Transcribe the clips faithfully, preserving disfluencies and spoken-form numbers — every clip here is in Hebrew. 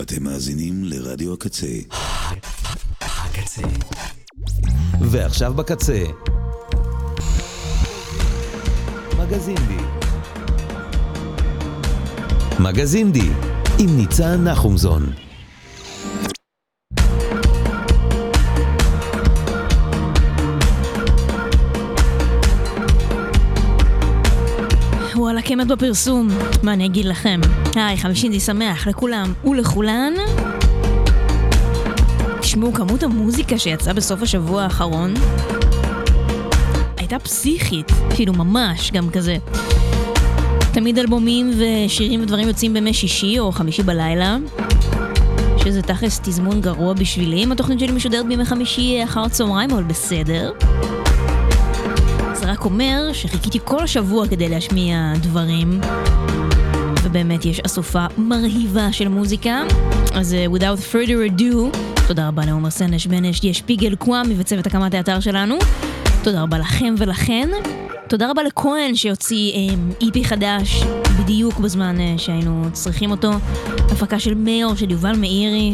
אתם מאזינים לרדיו הקצה. הקצה. ועכשיו בקצה. מגזין די. מגזין די עם ניצן נחומזון. וואלה, כמת בפרסום. מה אני אגיד לכם? היי, חמישין די שמח לכולם ולכולן. תשמעו, כמות המוזיקה שיצאה בסוף השבוע האחרון הייתה פסיכית, כאילו ממש גם כזה. תמיד אלבומים ושירים ודברים יוצאים בימי שישי או חמישי בלילה, שזה תכלס תזמון גרוע בשבילי. אם התוכנית שלי משודרת בימי חמישי אחר הצהריים, אבל בסדר. זה רק אומר שחיכיתי כל השבוע כדי להשמיע דברים, ובאמת יש אסופה מרהיבה של מוזיקה. אז uh, without further ado, תודה רבה לעומר סנש בנש די שפיגל קוואמי וצוות הקמת האתר שלנו. תודה רבה לכם ולכן. תודה רבה לכהן שיוציא אי פי חדש בדיוק בזמן uh, שהיינו צריכים אותו. הפקה של מאיר של יובל מאירי.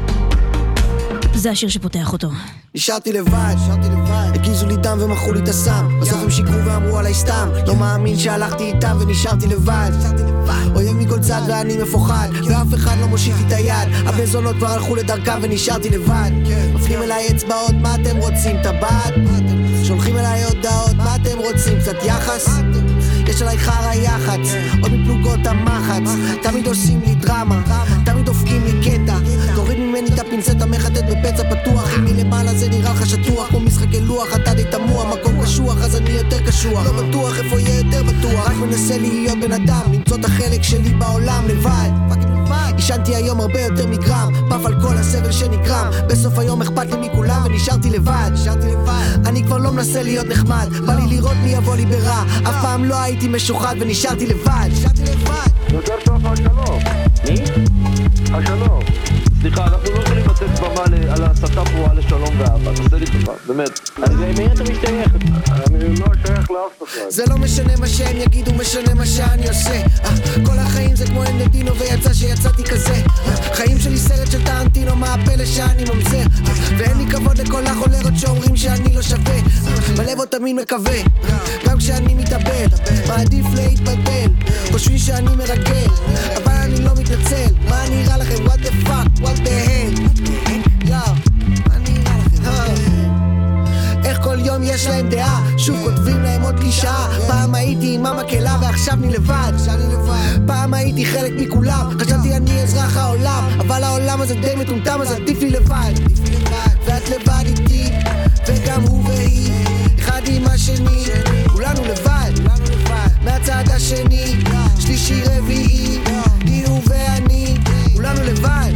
זה השיר שפותח אותו. נשארתי לבד, הגיזו לי דם ומחו לי את הסם. בסוף הם שיקרו ואמרו עליי סתם. לא מאמין שהלכתי איתם ונשארתי לבד. אויב מכל צד ואני מפוחד, ואף אחד לא מושיט לי את היד. הבזונות כבר הלכו לדרכם ונשארתי לבד. מפנים אליי אצבעות, מה אתם רוצים? טבעת? שולחים אליי הודעות, מה אתם רוצים? קצת יחס? יש עליי חרה יחץ, עוד מפלוגות המחץ. תמיד עושים לי דרמה, תמיד דופקים לי קטע. תוריד ממני את הפינצטה, מחטט בפצע פתוח. אם מלמעלה זה נראה לך שטוח, כמו משחקי לוח, אתה די תמוה, מקום קשוח, אז אני יותר קשוח. לא בטוח איפה יהיה יותר בטוח, רק מנסה להיות בן אדם, למצוא את החלק שלי בעולם לבד. ישנתי היום הרבה יותר מגרם, פף על כל הסבל שנגרם. בסוף היום אכפת לי מכולם ונשארתי לבד. אני כבר לא מנסה להיות נחמד, בא לי לראות מי יבוא לי ברע. אף פעם לא הייתי משוחד ונשארתי לבד. יותר טוב השלום. מי? השלום. סליחה, אנחנו לא יכולים לתת במה על ההסתה פרועה לשלום ואהבה. תעשה לי טובה, באמת. אז מי אתה משתייך? אני לא שייך לאף אחד. זה לא משנה מה שהם יגידו, משנה מה שאני עושה. כל החיים זה כמו אנדדינו ויצא שיצאתי כזה. חיים שלי סרט של טרנטינו, מה הפלא שאני ממזר. ואין לי כבוד לכל החולרות שאומרים שאני לא שווה. בלב עוד תמיד מקווה, גם כשאני מתאבד. מעדיף להתבלבל, חושבים שאני מרגל, אבל אני לא מתנצל. מה נראה לכם? What the fuck? What the hell? יאו, מה נראה לכם? איך כל יום יש להם דעה, שוב כותבים להם עוד קלישאה. פעם הייתי עם המקלה ועכשיו אני לבד. פעם הייתי חלק מכולם, חשבתי אני אזרח העולם, אבל העולם הזה די מטומטם, אז עדיף לי לבד. ואת לבד איתי, וגם הוא והיא, אחד עם השני, כולנו לבד. מהצד השני, שלישי רביעי, היא הוא ואני, כולנו לבד.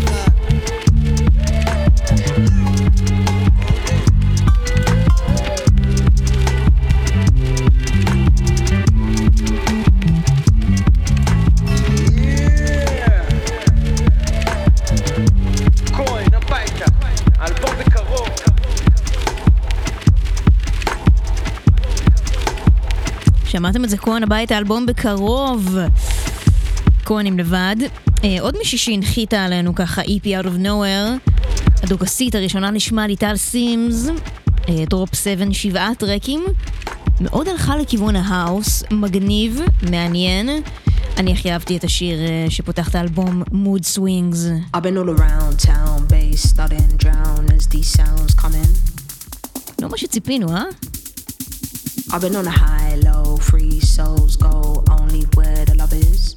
שמעתם את זה? כהן הביתה, אלבום בקרוב. כהן עם לבד. אה, עוד מישהי שהנחיתה עלינו ככה, אי פי Out of Nowhere. הדוגסית הראשונה נשמע ליטל סימס. אה, דרופ שבע, שבעה טרקים. מאוד הלכה לכיוון ההאוס. מגניב, מעניין. אני הכי אהבתי את השיר אה, שפותח את האלבום Mood Swings. I've been all around town, bass starting drown as these sounds come in. לא מה שציפינו, אה? I've been on a high, low, free souls go only where the love is.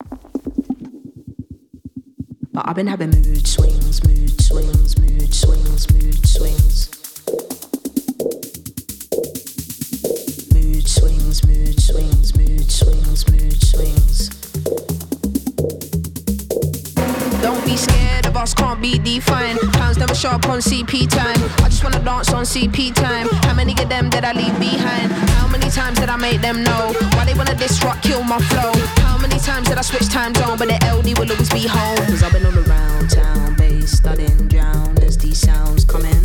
But I've been having mood swings, mood swings, mood swings, mood swings. Mood swings, mood swings, mood swings, mood swings. Don't be scared of us, can't be defined. Pounds never sharp on C P time. I just wanna dance on C P time. How many of them did I leave behind? How many times did I make them know? Why they wanna disrupt, kill my flow? How many times did I switch time zone? But the L D will always be home. Cause I've been all around town, bass studying drown as these sounds come in.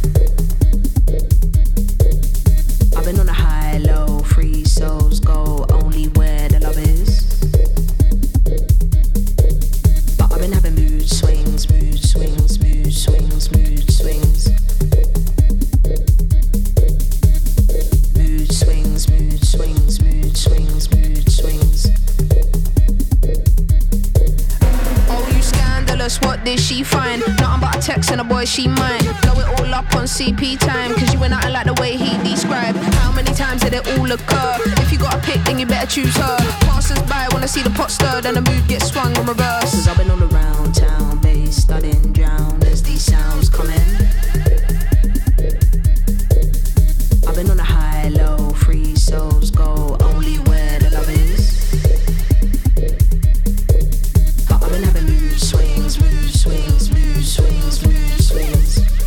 I've been on a high, low, free souls go only where the love is. But I've been having moods mood swings. Oh, you scandalous, what did she find? Nothing but a text and a boy she mine. Blow it all up on C P time, cause you ain't nothing like the way he described. How many times did it all occur? If you got a pick, then you better choose her. Passers by wanna see the pot stirred and the mood gets swung in reverse. Cause I've been all around town, bass studying drown as these sounds come in. I've been on a high, low, free souls go only where the love is. But I've been having mood swings, mood swings, mood swings, mood swings.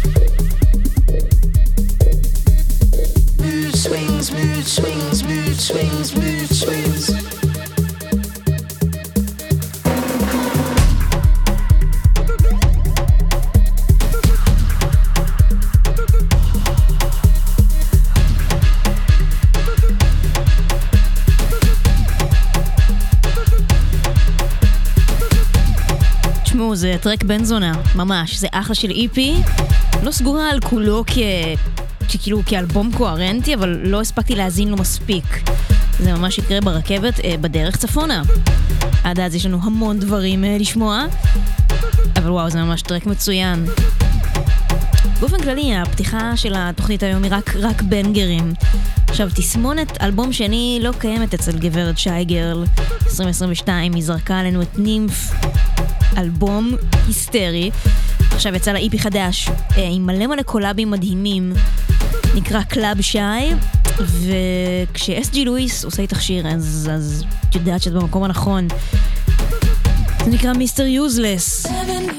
Mood swings, mood swings, mood swings, mood swings. זה טרק בן זונה, ממש, זה אחלה של איפי. לא סגורה על כולו כ... כאילו כאלבום קוהרנטי, אבל לא הספקתי להזין לו מספיק. זה ממש יקרה ברכבת אה, בדרך צפונה. עד אז יש לנו המון דברים אה, לשמוע, אבל וואו, זה ממש טרק מצוין. באופן כללי, הפתיחה של התוכנית היום היא רק, רק בנגרים. עכשיו, תסמונת אלבום שני לא קיימת אצל גברת שייגרל. עשרים עשרים ושתיים היא זרקה עלינו את נימף, אלבום היסטרי. עכשיו יצא לה איפי חדש עם מלא מלא קולאבים מדהימים, נקרא קלאב שי, וכש-אס ג'י לואיס עושה איתך שיר אז, אז את יודעת שאת במקום הנכון. זה נקרא מיסטר יוזלס.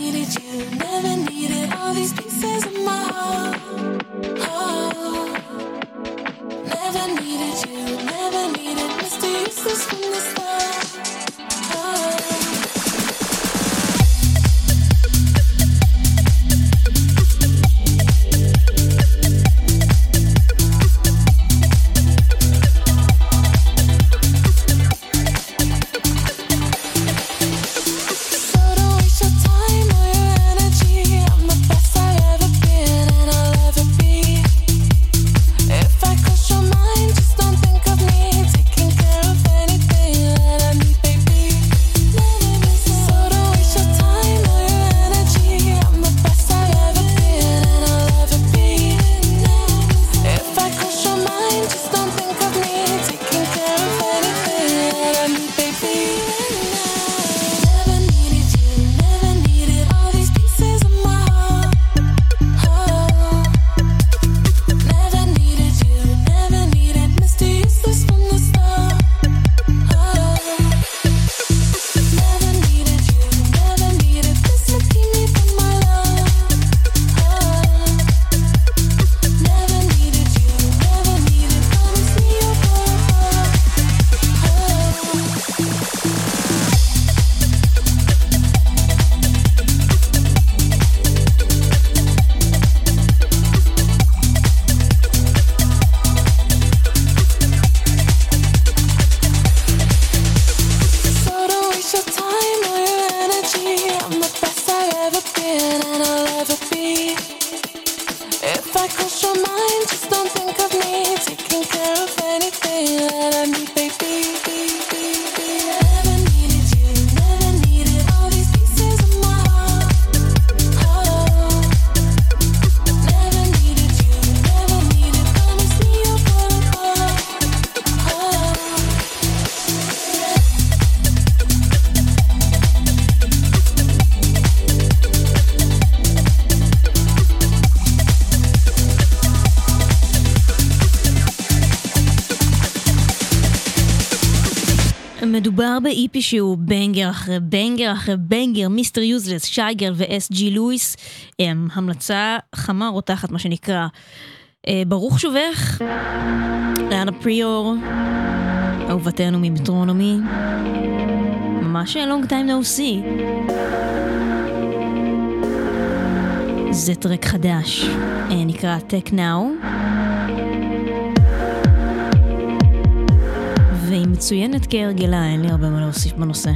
מדובר באיפי שהוא בנגר אחרי בנגר אחרי בנגר, מיסטר יוזלס, שייגרל ו-אס ג'י לואיס, הם המלצה חמה רותחת מה שנקרא. ברוך שובך, לאנה פריור, אהובתנו ממטרונומי, ממש long time no see. זה טרק חדש, נקרא Tech Now, והיא מצוינת כהרגלה, אין לי הרבה מה להוסיף בנושא.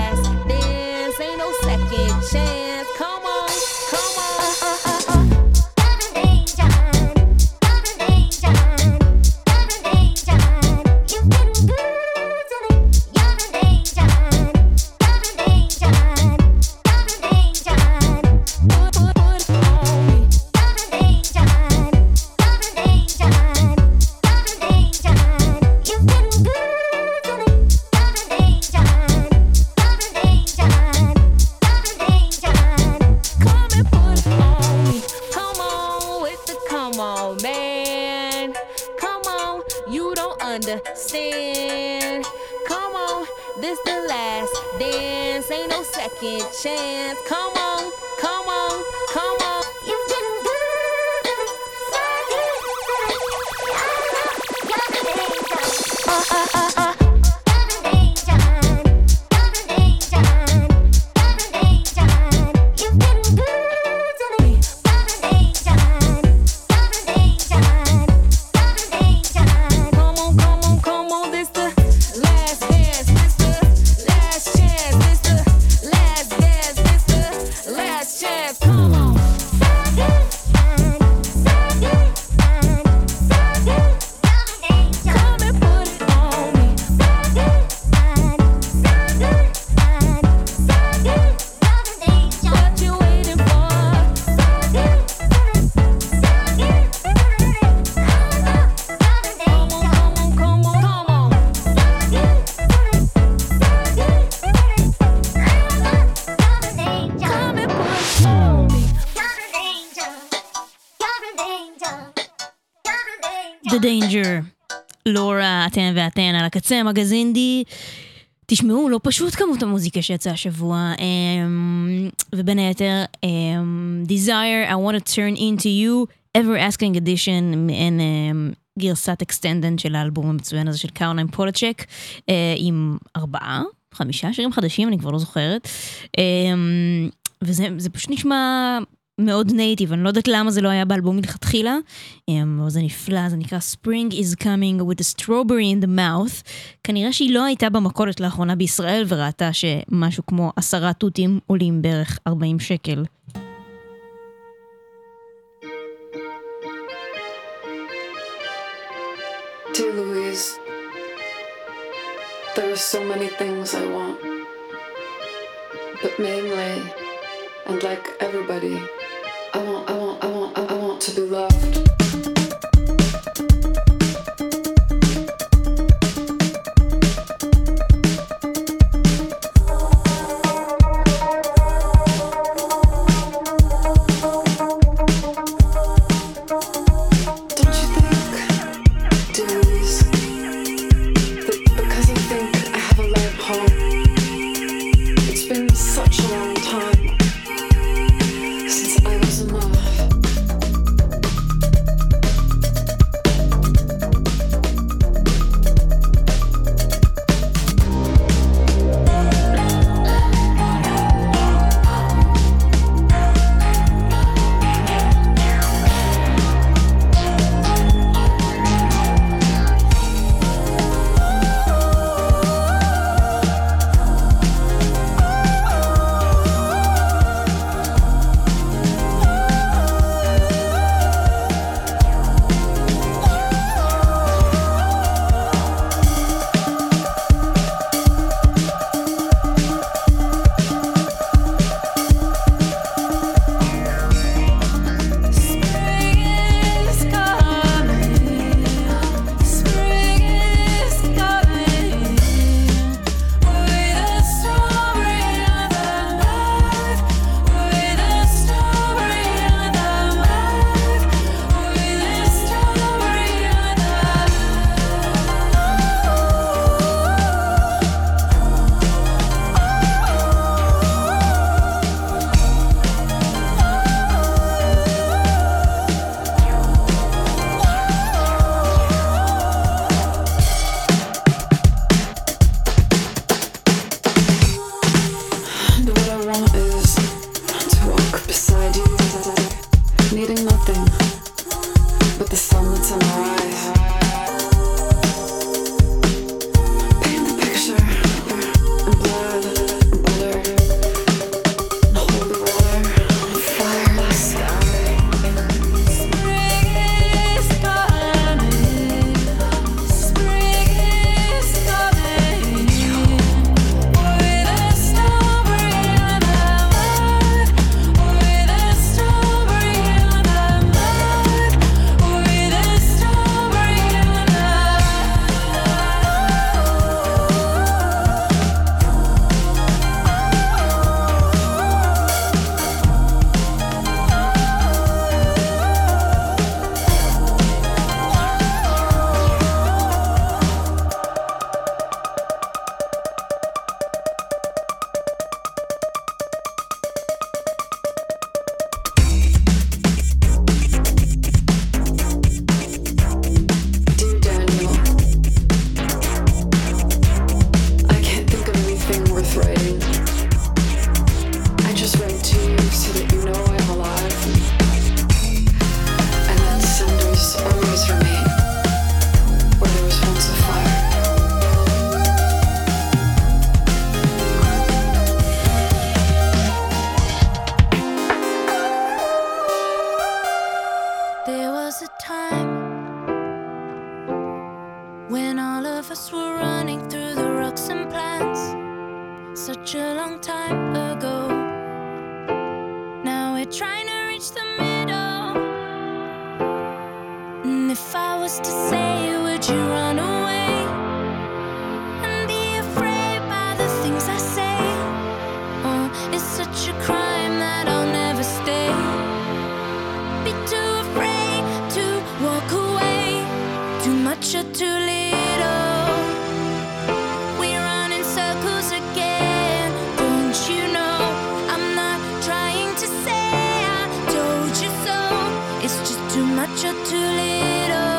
last dance, ain't no second chance. Come on, come on. Uh, uh, uh, uh. Understand? Come on, this the last dance, ain't no second chance. Come on, come on, come on. You getting good? Uh, uh, uh, uh. The Danger, לורה, אתן ואתן על הקצה, מגזינדי. תשמעו, לא פשוט כמות המוזיקה שיצא השבוע, ובין היתר Desire, I want to turn into you, Ever Asking Edition, מעין גרסת אקסטנדנט של האלבום המצוין הזה של קרולין פולצ'ק, עם ארבעה, חמישה שירים חדשים, אני כבר לא זוכרת, וזה זה פשוט נשמע מאוד נייטיב, אני לא יודעת למה זה לא היה באלבום מלכתחילה, אבל זה נפלא, זה נקרא Spring is coming with a strawberry in the mouth, כנראה שהיא לא הייתה במכולת לאחרונה בישראל, וראתה שמשהו כמו עשרה תותים עולים בערך ארבעים שקל. Dear Louise, there are so many things I want, but mainly, and like everybody, I want, I want, I want, I want to be loved. Such a long time since I was in love. such a long time ago. Now we're trying to reach the middle. And if I was to say, would you run away and be afraid by the things I say? Oh, it's such a crime that I'll never stay. Be too afraid to walk away. Too much or too little. We run in circles again. Don't you know I'm not trying to say I told you so. It's just too much or too little.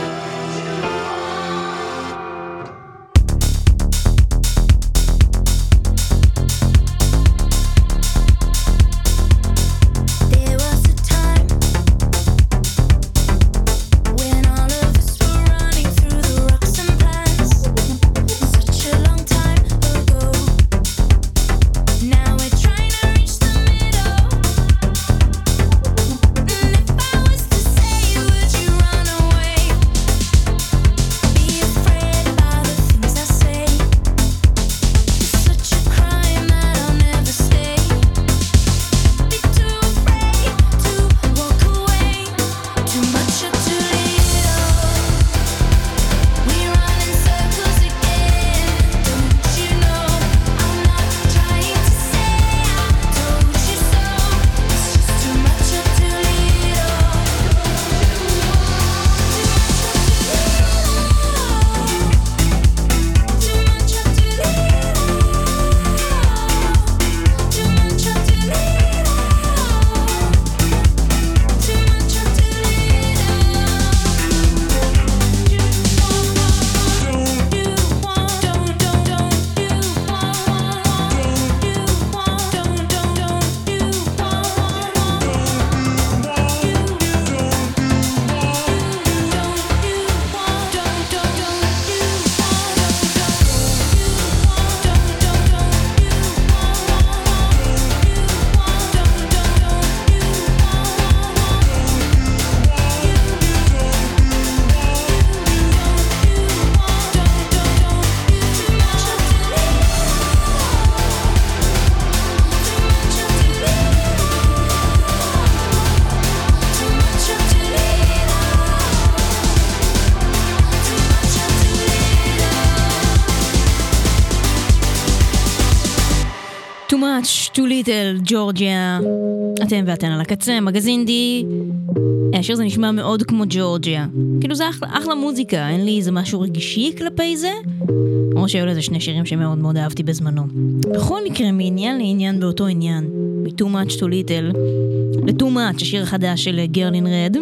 Too Little, ג'ורג'יה. אתם ואתן על הקצה, מגזין די. השיר זה נשמע מאוד כמו ג'ורג'יה. כאילו זה אחלה, אחלה מוזיקה, אין לי איזה משהו רגישי כלפי זה. או שהיו לזה שני שירים שמאוד מאוד אהבתי בזמנו. בכל מקרה, מעניין לעניין באותו עניין. מ-Too Much Too Little ל-Too Much, השיר החדש של Girl in Red.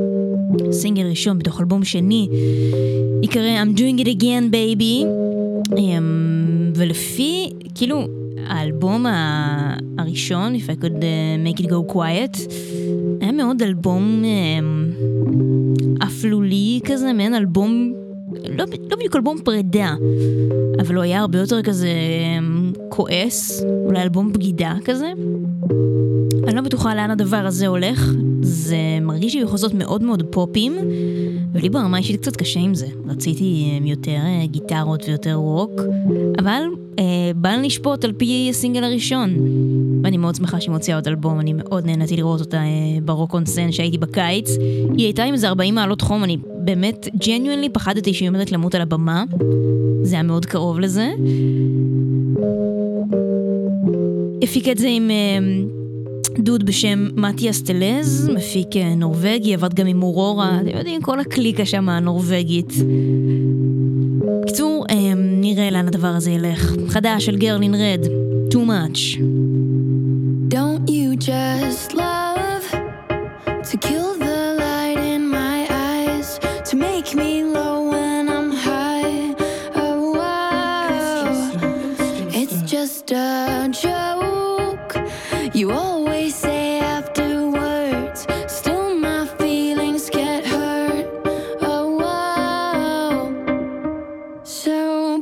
סינגל ראשון בתוך אלבום שני. יקרא I'm Doing It Again Baby. ולפי, כאילו, האלבום הראשון, If I Could Make It Go Quiet, היה מאוד אלבום אפלולי כזה, מעין אלבום, לא, לא בדיוק אלבום פרידה, אבל הוא היה הרבה יותר כזה כועס, אולי אלבום בגידה כזה. אני לא בטוחה לאן הדבר הזה הולך, זה מרגיש לי בחוזות מאוד מאוד פופים, ולי ברמה אישית קצת קשה עם זה. רציתי יותר גיטרות ויותר רוק, אבל אה, בא לי לשפוט על פי הסינגל הראשון, ואני מאוד שמחה שהיא מוציאה עוד אלבום. אני מאוד נהניתי לראות אותה אה, ברוק און סן שהייתי בקיץ. היא הייתה עם איזה ארבעים מעלות חום, אני באמת ג'ניואנלי פחדתי שהיא עומדת למות על הבמה, זה היה מאוד קרוב לזה. הפיק את זה עם אה, דוד בשם מתיאס טלז, מפיק נורווגי, עבד גם עם אורורה, אתם יודעים, כל הקליקה שם הנורווגית. בקיצור, נראה לאן הדבר הזה ילך. חדש של Girl in Red, Too Much. Don't you just love to kill the light in my eyes, to make me low when I'm high? Oh wow, it's just a joke. You always say afterwards, still my feelings get hurt. Oh wow, so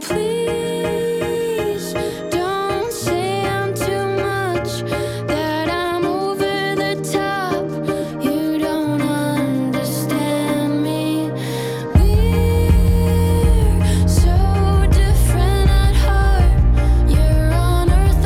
please don't say I'm too much, that I'm over the top. You don't understand me. We're so different at heart. You're on earth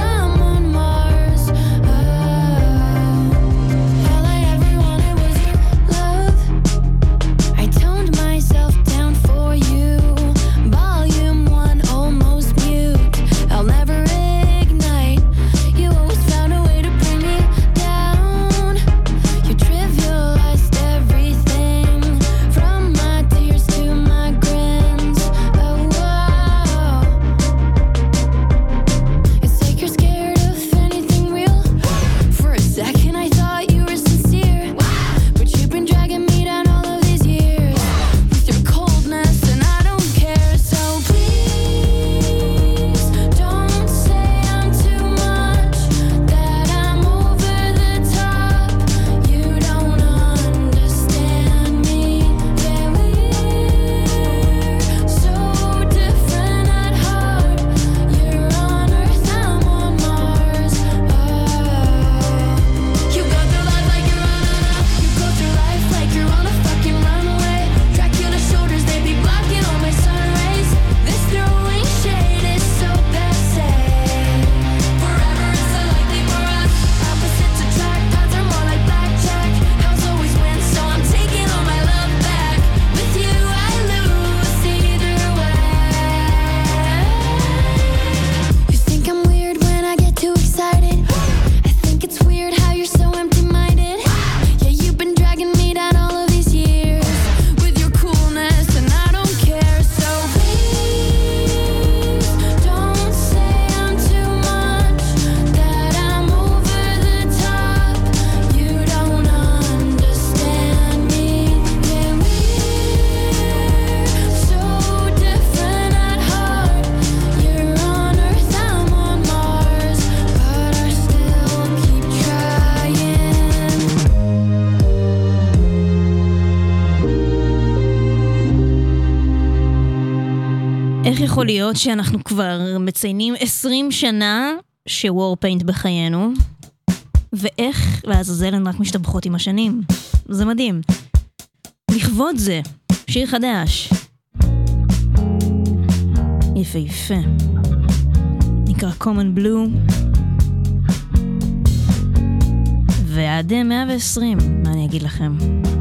יכול להיות שאנחנו כבר מציינים עשרים שנה שוורפיינט בחיינו, ואיך לעזאזל הן רק משתבחות עם השנים. זה מדהים. לכבוד זה, שיר חדש. יפה יפה. נקרא Common Blue. ועד מאה ועשרים, מה אני אגיד לכם?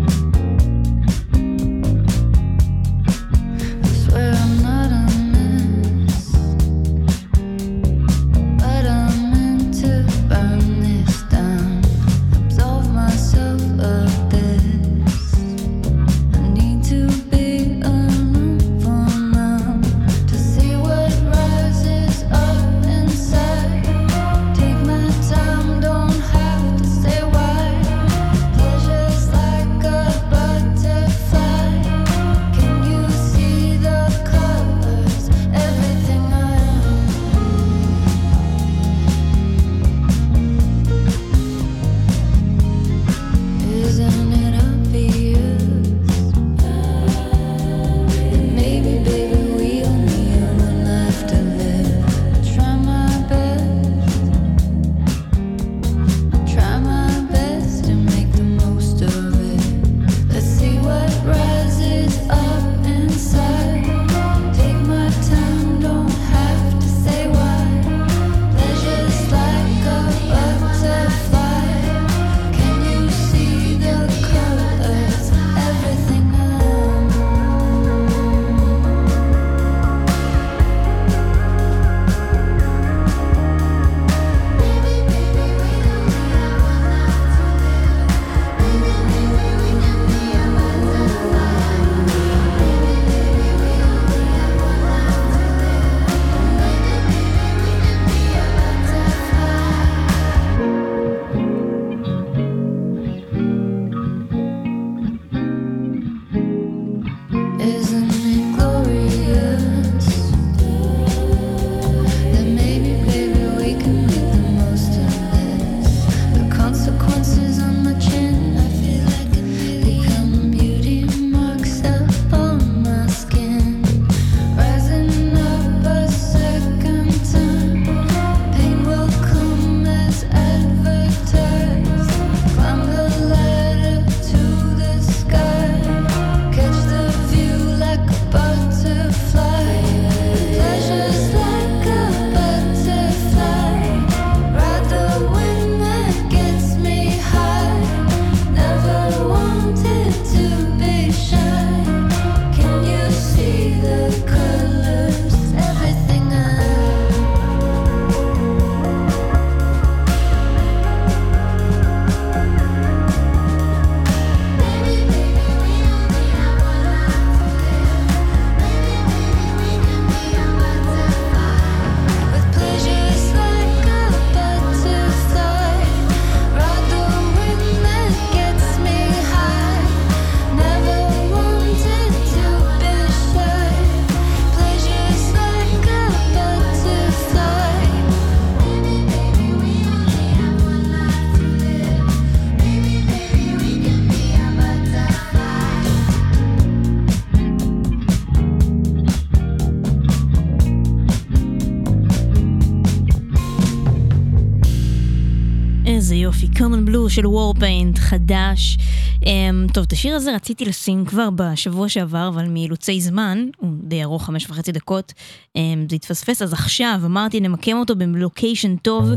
איזה יופי, Common Blue של Warpaint, חדש. Um, טוב, את השיר הזה רציתי לשים כבר בשבוע שעבר, אבל מאילוצי זמן, הוא די ארוך, חמש וחצי דקות, um, זה התפספס, אז עכשיו אמרתי נמקם אותו בלוקיישן טוב,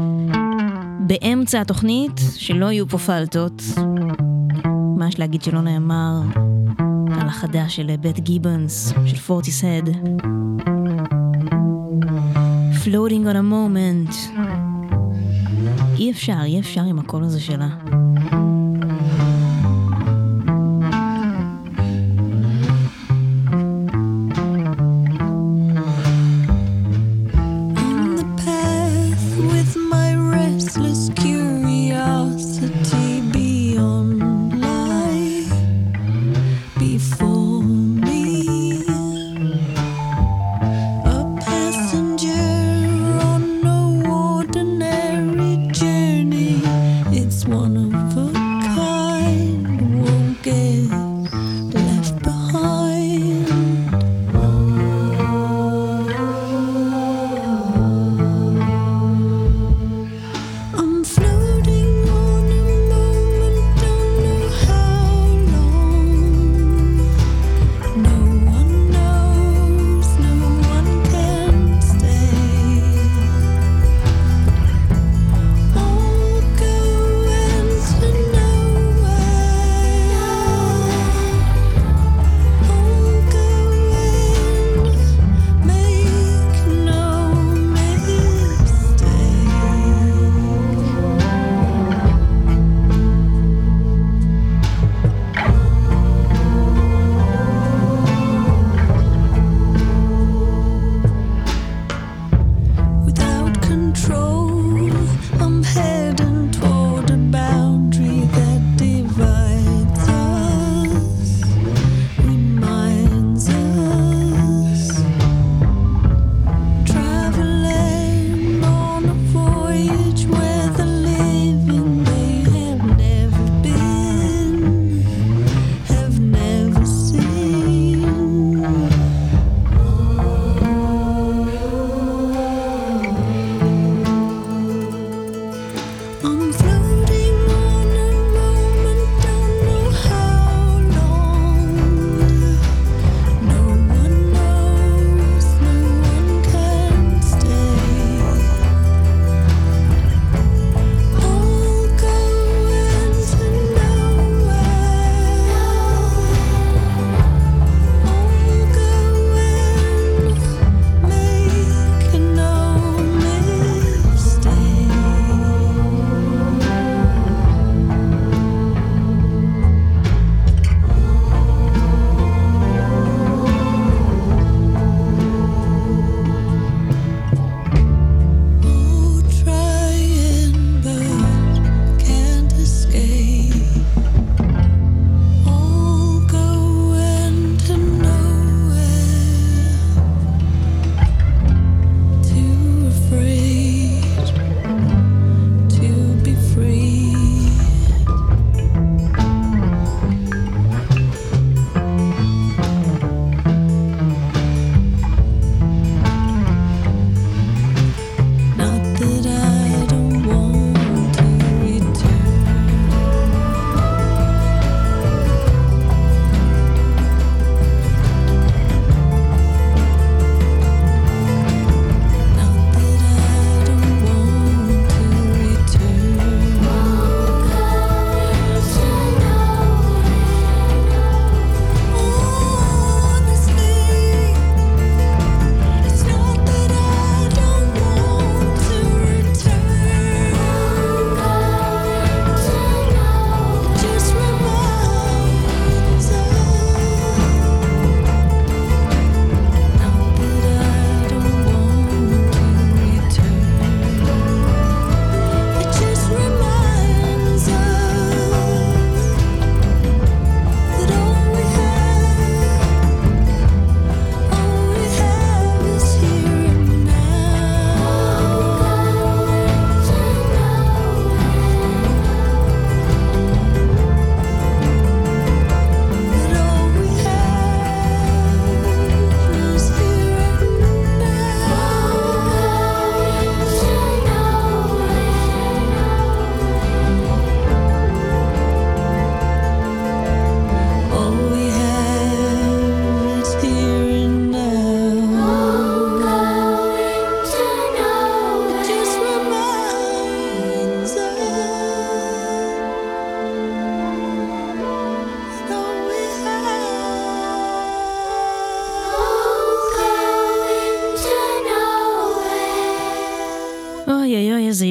באמצע התוכנית, שלא יהיו פה פלטות. מה יש להגיד שלא נאמר על החדש של בית גיבנס, של פורטיסהד. Floating on a moment. אי אפשר, אי אפשר עם הקול הזה שלה. One of a kind.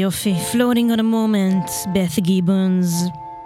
יופי, Floating on a Moment, בת גיבונס.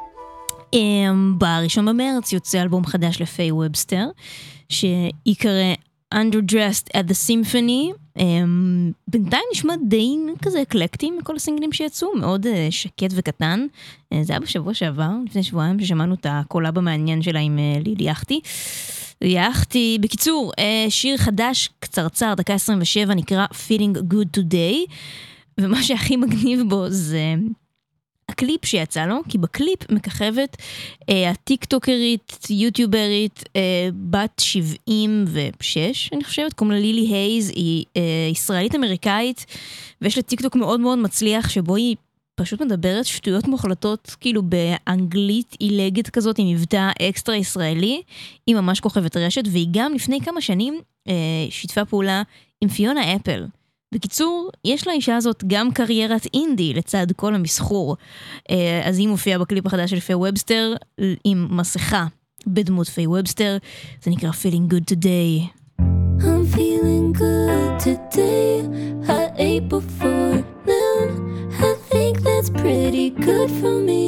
בראשון במרץ יוצא אלבום חדש לפיי ובסטר, שיקרא Underdressed at the Symphony. בינתיים נשמע די כזה אקלקטי מכל הסינגלים שיצאו, מאוד שקט וקטן. זה היה בשבוע שעבר, לפני שבועיים, ששמענו את הקולאב המעניין שלה עם לילי יחתי. יחתי, בקיצור, שיר חדש קצרצר, דקה עשרים ושבע, נקרא Feeling Good Today, ומה שהכי מגניב בו זה הקליפ שיצא לו, כי בקליפ מככבת אה, הטיקטוקרית, יוטיוברית, אה, בת שבעים ושש, אני חושבת, קוראים לה לילי הייז, היא אה, ישראלית אמריקאית, ויש לה טיקטוק מאוד מאוד מצליח, שבו היא פשוט מדברת שטויות מוחלטות, כאילו באנגלית עילגת כזאת, עם מבטא אקסטרה ישראלי, היא ממש כוכבת רשת, והיא גם לפני כמה שנים אה, שיתפה פעולה עם פיונה אפל. בקיצור, יש לאישה הזאת גם קריירת אינדי לצד כל המסחור. אז היא מופיעה בקליפ החדש של פיי ובסטר עם מסכה בדמות פיי ובסטר. זה נקרא Feeling Good Today. I'm feeling good today. I ate before noon. I think that's pretty good for me.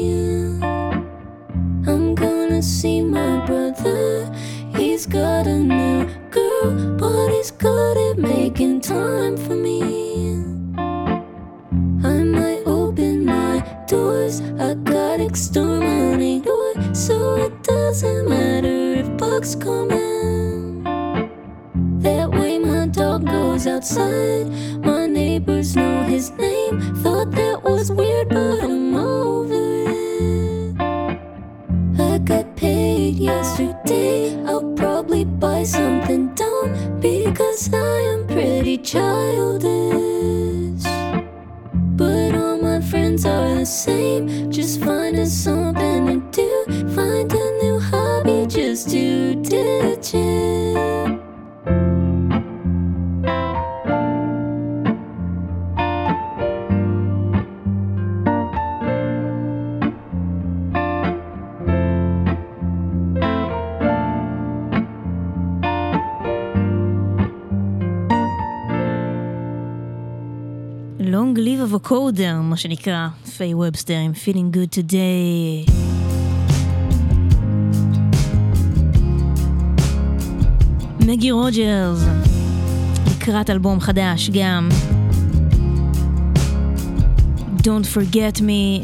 I'm gonna see my brother. He's got a new girl, but he's good at making time for me. I might open my doors. I got extra money, so it doesn't matter if bugs come in. That way my dog goes outside. My neighbors know his name. Thought that was weird, but I'm over it. I got paid yesterday. I'll probably buy something dumb because I am pretty childish. But all my friends are the same. Just finding something to do. Find a new hobby just to ditch it. Long Live of a Coder, מה שנקרא, פיי ובסטר עם Feeling Good Today. מגי רוג'רס, לקראת אלבום חדש גם. Don't Forget Me,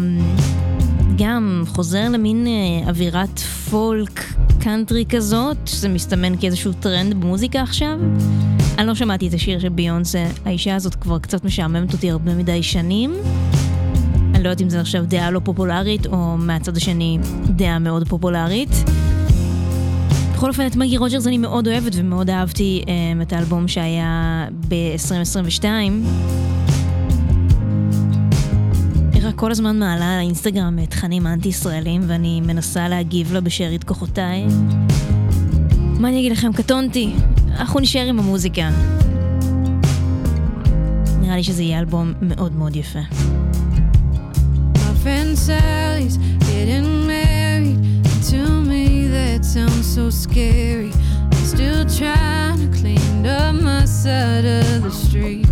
גם חוזר למין אווירת פולק קאנטרי כזאת, שזה מסתמן כאיזשהו טרנד במוזיקה עכשיו. אני לא שמעתי את השיר של ביונסה, האישה הזאת כבר קצת משעממת אותי הרבה מדי שנים. אני לא יודעת אם זה עכשיו דעה לא פופולרית, או מהצד השני דעה מאוד פופולרית. בכל אופן, את מגי רוג'רס אני מאוד אוהבת, ומאוד אהבתי um, את האלבום שהיה ב-עשרים עשרים ושתיים. היא רק כל הזמן מעלה על האינסטגרם תכנים אנטי-ישראלים, ואני מנסה להגיב לה בשארית כוחותיי. מה אני אגיד לכם? קטונתי. אנחנו נשאר עם המוזיקה. נראה לי שזה יהיה אלבום מאוד מאוד יפה. My friend Sally's getting married. To me that sounds so scary. I'm still trying to clean up my side of the street.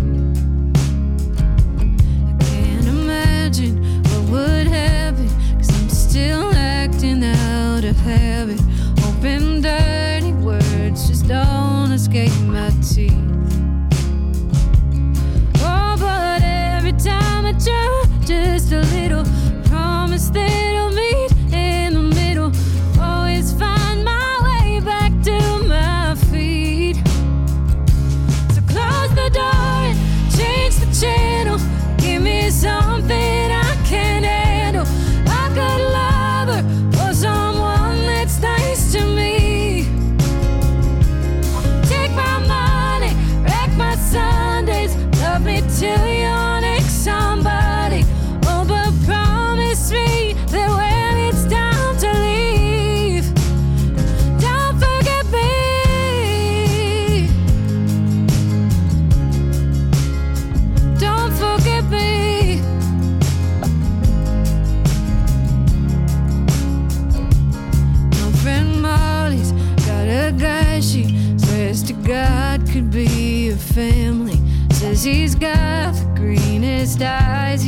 I can't imagine what would happen, 'cause I'm still acting out of habit. Open dirty words just don't escape my teeth. Oh, but every time I try just a little, promise that I'll meet in the middle. Always find my way back to my feet. So close the door and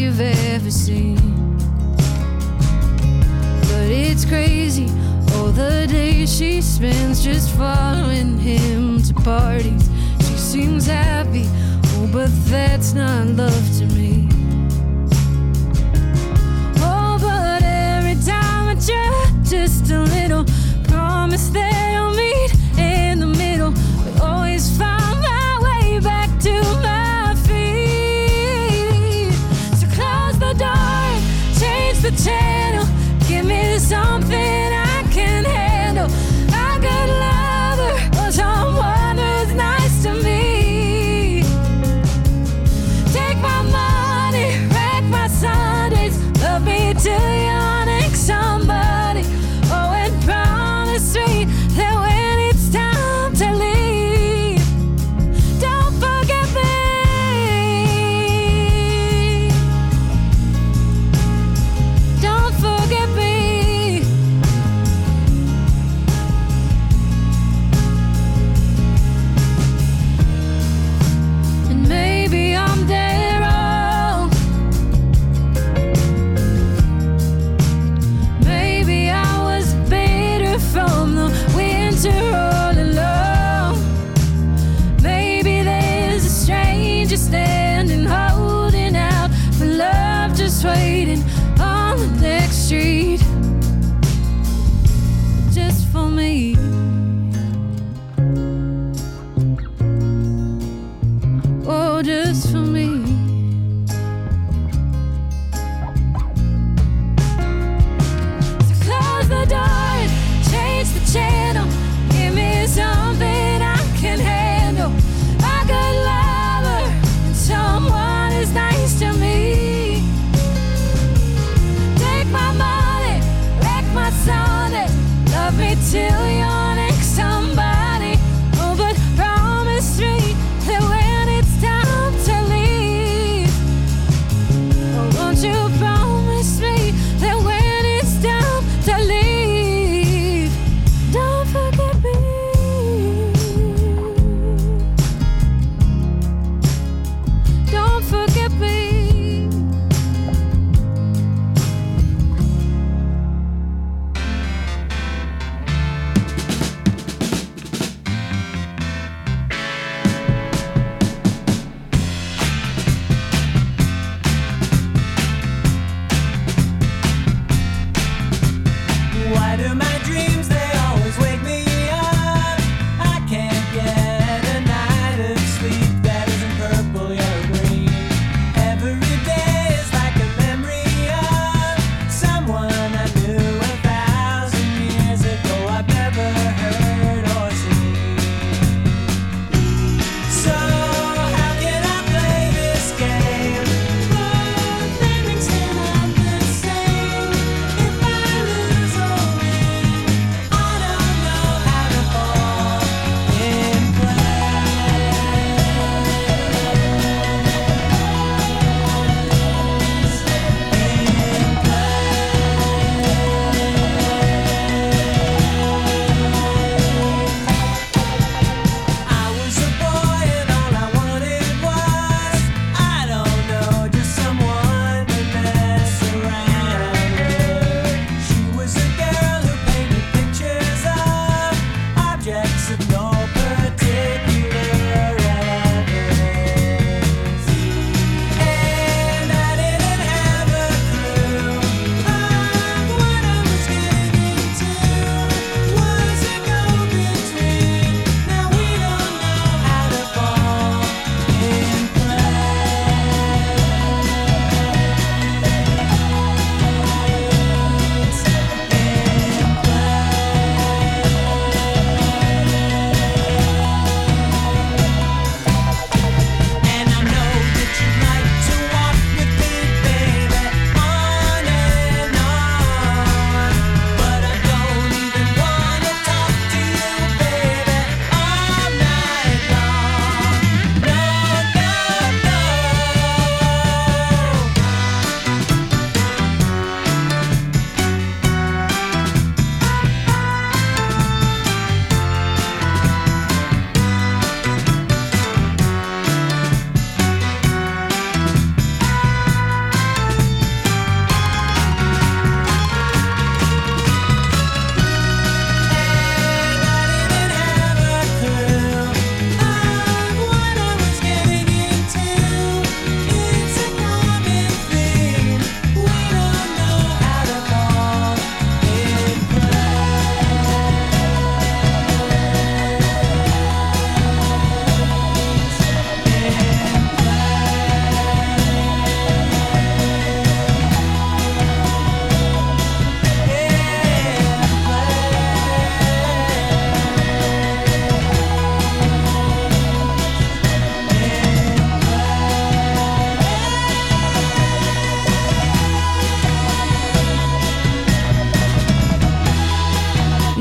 you've ever seen. But it's crazy, all the days she spends just following him to parties. She seems happy, oh, but that's not love to me. Oh, but every time I try just a little, promise that I'll meet in the middle, but always find my way back to my feet. So close the door, change the channel, give me something I can handle. A good lover or someone who's nice to me. Take my money, wreck my Sundays, love me till you're next somebody. Oh, and promise me that when it's time to leave, don't forget me. Don't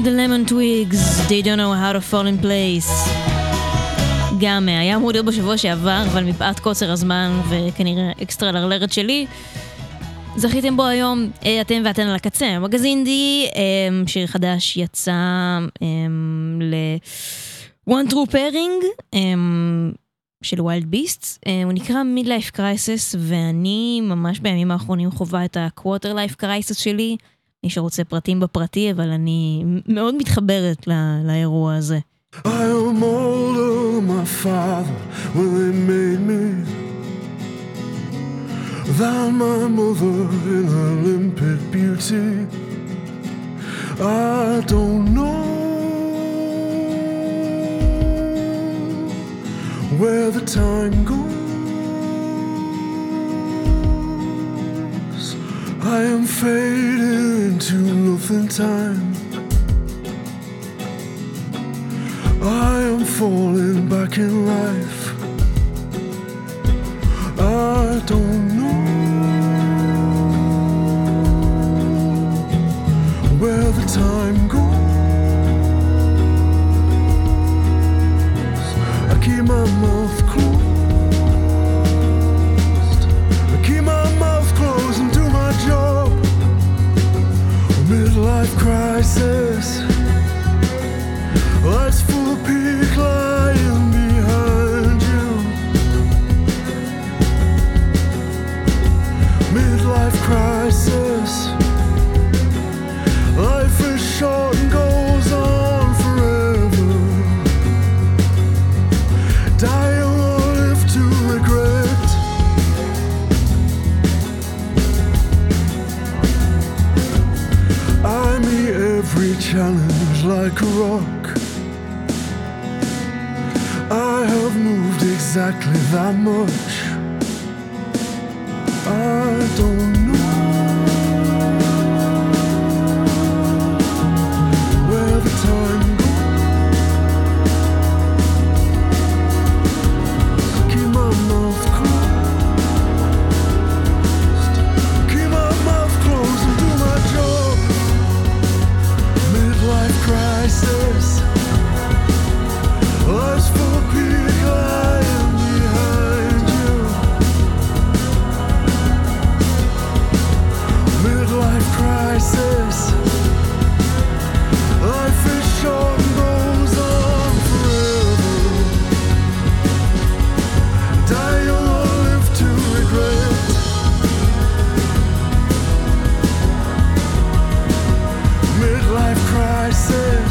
The Lemon Twigs, They Don't Know How to Fall in Place. גם היה אמור להיות בשבוע שעבר, אבל מפאת קוצר הזמן וכנראה אקסטרה לרלרת שלי, זכיתם בו היום, אתם ואתן על הקצה. מגזין די, שיר חדש יצא ל-One True Pairing של ווילד ביסטס. הוא נקרא Midlife Crisis, ואני ממש בימים האחרונים חובה את ה-Quarter Life Crisis שלי. מי שרוצה פרטים בפרטי, אבל אני מאוד מתחברת לא- לאירוע הזה. I am older, my father, when they made me, than my mother in her limpid beauty. I don't know where the time goes. I am fading into nothing time. I am falling back in life. I don't know where the time goes. I keep my mouth closed. I keep my mouth closed and do my job. Midlife crisis. Life's full of peak lying behind you. Midlife crisis. Life is short and goes on forever. Die or live to regret. I meet every challenge like a rock. I have moved exactly that much. I don't know where the time goes. Keep my mouth closed. Keep my mouth closed and do my job. Midlife crisis. Life's full of peak lying behind you. Midlife crisis. Life is short and goes on forever. Die or live to regret. Midlife crisis.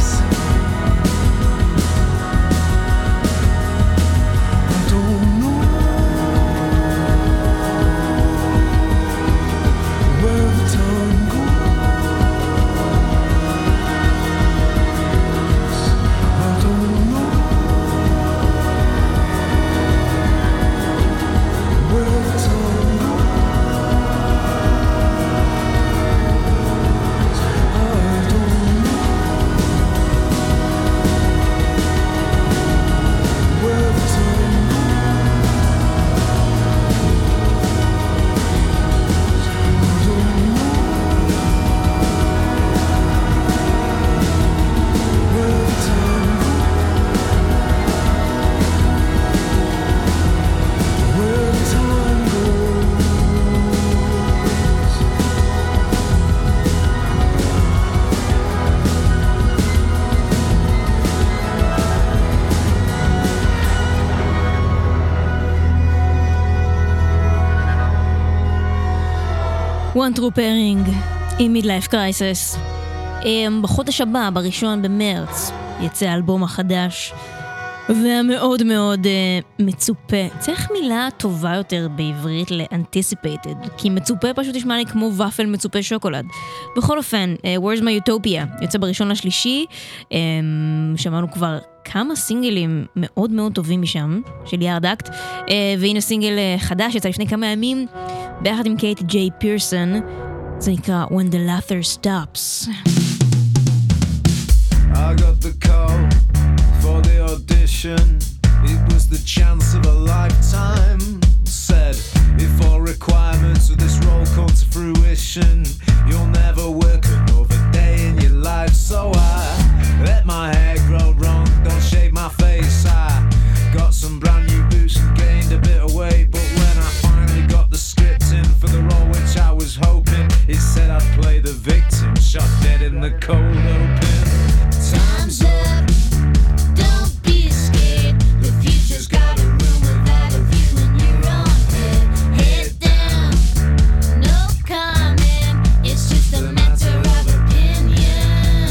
One True Pairing עם Midlife Crisis. בחודש הבא, בראשון במרץ, יצא האלבום החדש והמאוד מאוד uh, מצופה. צריך מילה טובה יותר בעברית ל-anticipated, כי מצופה פשוט נשמע לי כמו ופל מצופה שוקולד. בכל אופן, uh, Where's My Utopia יוצא בראשון לשלישי. um, שמענו כבר כמה סינגלים מאוד מאוד טובים משם, של יארד אקט, uh, והנה סינגל uh, חדש יצא לפני כמה ימים ביחד עם קייטי ג'יי פירסון. זה נקרא When the Laughter Stops. I got the call for the audition. It was the chance of a lifetime. Said, if all requirements of this role come to fruition, you'll never work another day in your life. So I the victim shot dead in the cold open. Time's up, don't be scared. The future's got a room without a view in your own head. Head down, no comment. It's just a matter of opinion.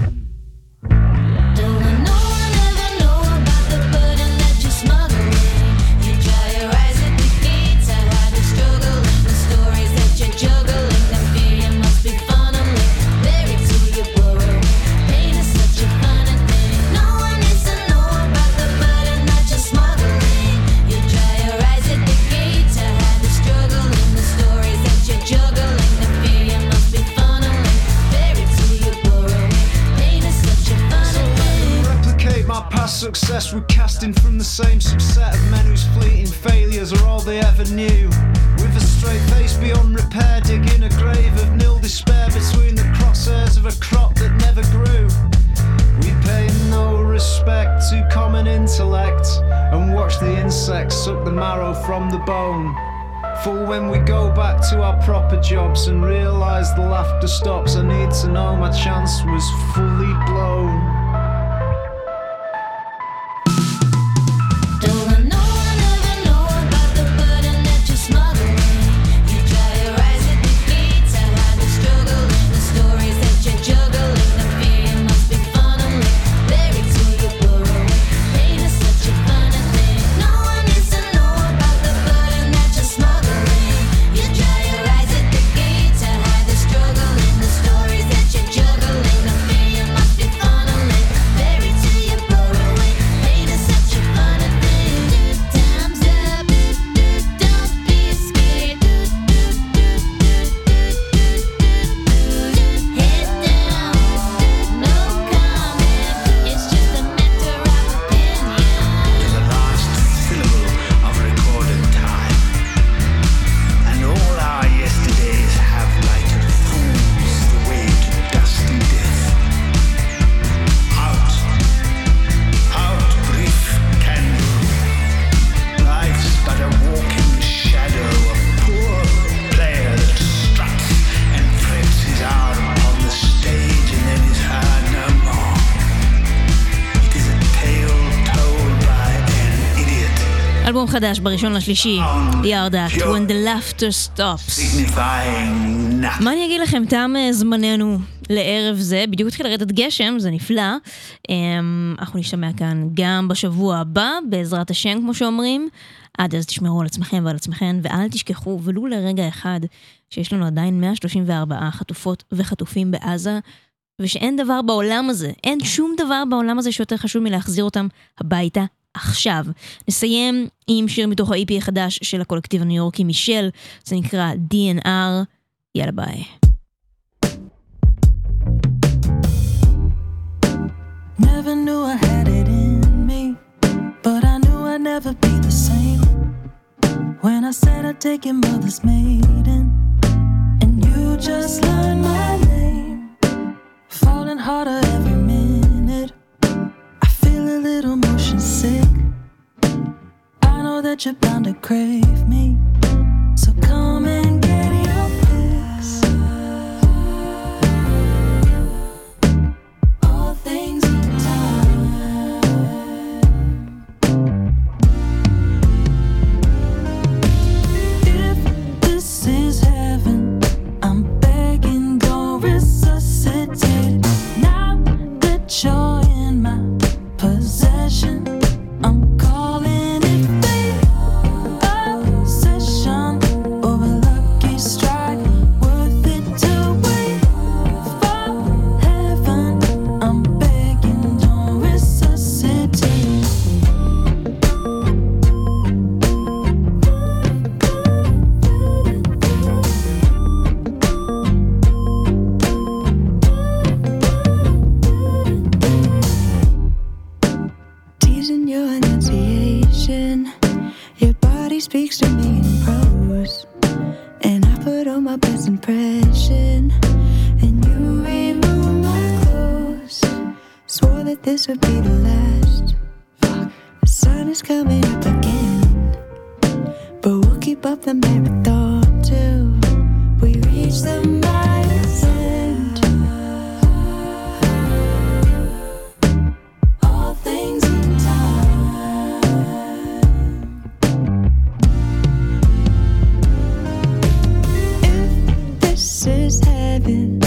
Don't let no one ever know about the burden that you're smuggling. You dry your eyes at the gates. I hide the struggle and the stories that you're juggling. The fear you must be funneling, buried to your burrow. Pain is such a funny thing. No one needs to know about the burden that you're smuggling. You dry your eyes at the gates. I hide the struggle and the stories that you're juggling. The fear you must be funneling, buried to your burrow. Pain is such a funny thing. Replicate my past success, recasting from the same subset of men whose fleeting failures are all they ever knew. With a straight face beyond repair, digging a grave of nil despair between the crosshairs of a crop that never grew. We pay no respect to common intellect and watch the insects suck the marrow from the bone. For when we go back to our proper jobs and realise the laughter stops, I need to know my chance was fully blown. Don't let no one ever know about the burden that you're smuggling. You dry your eyes at the gates. I hide the struggle and the stories that you're juggling. The fear you must be funneling, buried to your burrow. Pain is such a funny thing. No one needs to know about the burden that you're smuggling. You dry your eyes at the gates. I hide the struggle and the stories that you're juggling. The fear you must be funneling, buried to your burrow. Pain is such a funny thing. Time's up, don't be scared. Head down, no comment. It's just a matter of opinion. The last syllable of recorded time, and all our yesterdays have lighted fools the way to dusty death. Out, out, brief candle. Life's but a walking shadow, a poor player that struts and frets his arm upon the stage and then is heard no more. It is a tale told by an idiot, אלבום חדש בראשון לשלישי, ירדק, When the Laughter Stops. signifying nothing. מה אני אגיד לכם, תם אה, זמננו לערב זה, בדיוק התחיל לרדת גשם, זה נפלא. אמ, אנחנו נשתמע כאן גם בשבוע הבא, בעזרת השם כמו שאומרים. עד אז תשמרו על עצמכם ועל עצמכם, ואל תשכחו ולו לרגע אחד שיש לנו עדיין מאה שלושים וארבע חטופות וחטופים בעזה, ושאין דבר בעולם הזה, אין שום דבר בעולם הזה שיותר חשוב מלהחזיר אותם הביתה עכשיו. נסיים עם שיר מתוך ה-אי פי החדש של הקולקטיב הניו יורקי מישל, זה נקרא די אן אר. יאללה ביי. Never knew I had it in me, but I knew I'd never be the same. When I said I'd take your mother's maiden, and you just learned my name. Falling harder every minute, I feel a little motion sick. I know that you're bound to crave me, so come and get your fix. All things in time. If this is heaven, I'm begging, don't resuscitate. Now that you're in my possession, I'm calling it fate. Obsession or a lucky strike, worth it to wait for heaven. I'm begging, don't resuscitate. Teasing your enunciation, your body speaks to me in prose, and I put on my best impression, and you remove my clothes. Swore that this would be the last. The sun is coming up again, but we'll keep up the marathon till we reach the mile. with it.